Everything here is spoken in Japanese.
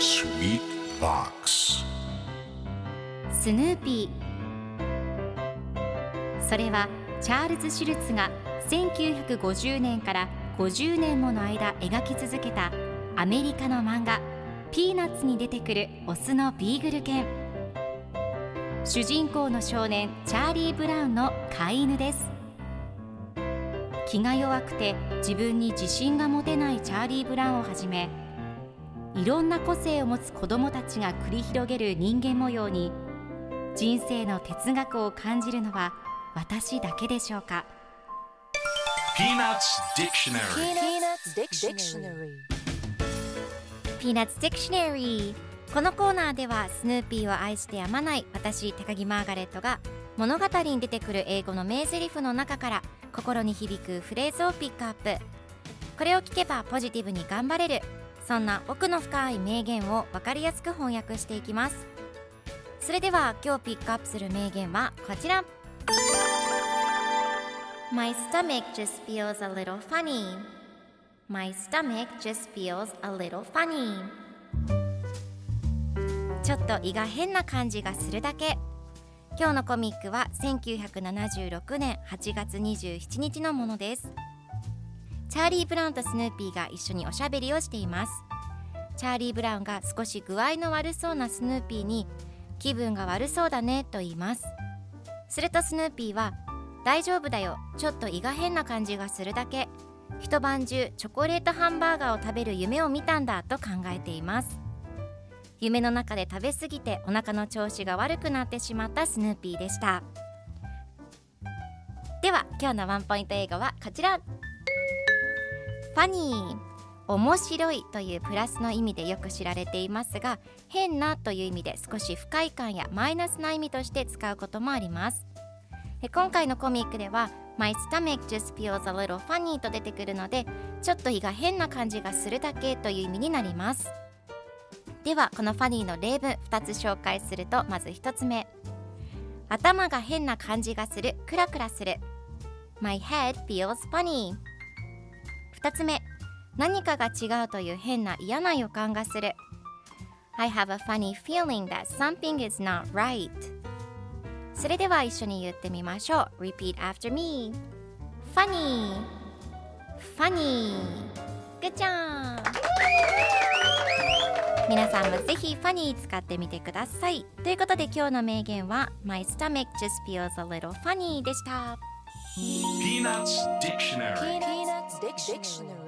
Sweet Box スヌーピー。それはチャールズ・シュルツが1950年から50年もの間描き続けたアメリカの漫画ピーナッツに出てくるオスのビーグル犬。主人公の少年チャーリー・ブラウンの飼い犬です。気が弱くて自分に自信が持てないチャーリー・ブラウンをはじめ、いろんな個性を持つ子どもたちが繰り広げる人間模様に人生の哲学を感じるのは私だけでしょうか。 Peanuts Dictionary Peanuts Dictionary。 このコーナーではスヌーピーを愛してやまない私高木マーガレットが物語に出てくる英語の名台詞の中から心に響くフレーズをピックアップ。これを聞けばポジティブに頑張れる、そんな奥の深い名言を分かりやすく翻訳していきます。それでは今日ピックアップする名言はこちら。 My stomach just feels a little funny. My stomach just feels a little funny. ちょっと胃が変な感じがするだけ。今日のコミックは1976年8月27日のものです。チャーリー・ブラウンとスヌーピーが一緒におしゃべりをしています。チャーリー・ブラウンが少し具合の悪そうなスヌーピーに気分が悪そうだねと言います。するとスヌーピーは大丈夫だよ、ちょっと胃が変な感じがするだけ、一晩中チョコレートハンバーガーを食べる夢を見たんだと考えています。夢の中で食べ過ぎてお腹の調子が悪くなってしまったスヌーピーでした。では今日のワンポイント英語はこちら。ファニー、面白いというプラスの意味でよく知られていますが、変なという意味で少し不快感やマイナスな意味として使うこともあります。今回のコミックでは My stomach just feels a little funny と出てくるので、ちょっと胃が変な感じがするだけという意味になります。ではこのファニーの例文2つ紹介すると、まず1つ目、頭が変な感じがする、クラクラする。 My head feels funny。 2つ目、何かが違うという変な嫌な予感がする。 I have a funny feeling that something is not right。 それでは一緒に言ってみましょう。 Repeat after me。 Funny Funny Good job。皆さんもぜひファニー使ってみてください。ということで今日の名言は My stomach just feels a little funny でした。 Peanuts Dictionary